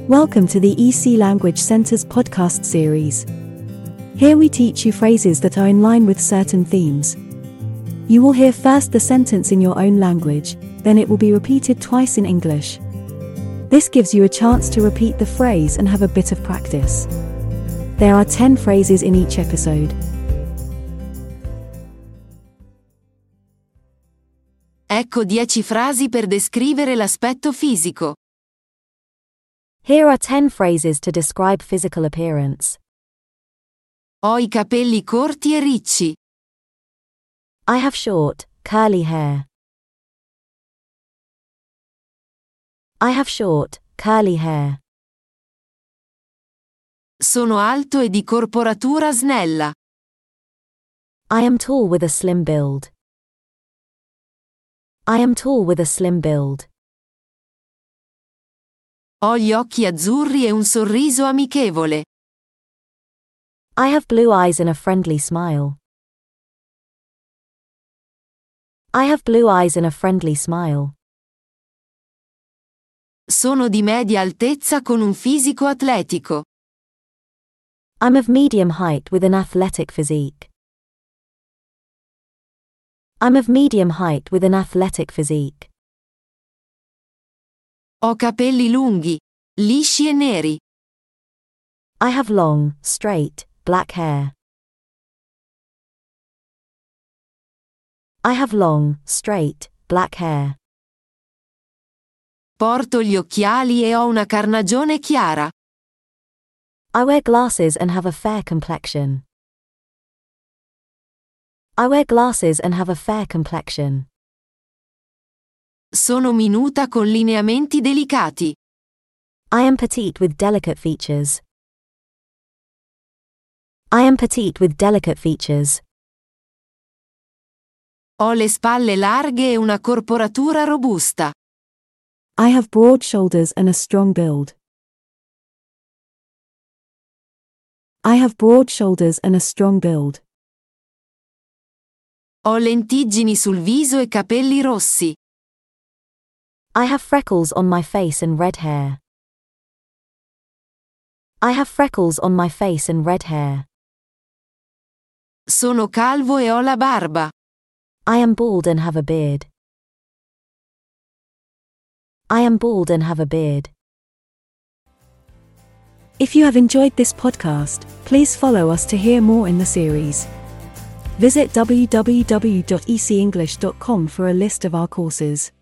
Welcome to the EC Language Center's podcast series. Here we teach you phrases that are in line with certain themes. You will hear first the sentence in your own language, then it will be repeated twice in English. This gives you a chance to repeat the phrase and have a bit of practice. There are 10 phrases in each episode. Ecco 10 frasi per descrivere l'aspetto fisico. Here are 10 phrases to describe physical appearance. Ho I capelli corti e ricci. I have short, curly hair. I have short, curly hair. Sono alto e di corporatura snella. I am tall with a slim build. I am tall with a slim build. Ho gli occhi azzurri e un sorriso amichevole. I have blue eyes and a friendly smile. I have blue eyes and a friendly smile. Sono di media altezza con un fisico atletico. I'm of medium height with an athletic physique. I'm of medium height with an athletic physique. Ho capelli lunghi, lisci e neri. I have long, straight, black hair. I have long, straight, black hair. Porto gli occhiali e ho una carnagione chiara. I wear glasses and have a fair complexion. I wear glasses and have a fair complexion. Sono minuta con lineamenti delicati. I am petite with delicate features. I am petite with delicate features. Ho le spalle larghe e una corporatura robusta. I have broad shoulders and a strong build. I have broad shoulders and a strong build. Ho lentiggini sul viso e capelli rossi. I have freckles on my face and red hair. I have freckles on my face and red hair. Sono calvo e ho la barba. I am bald and have a beard. I am bald and have a beard. If you have enjoyed this podcast, please follow us to hear more in the series. Visit www.ecenglish.com for a list of our courses.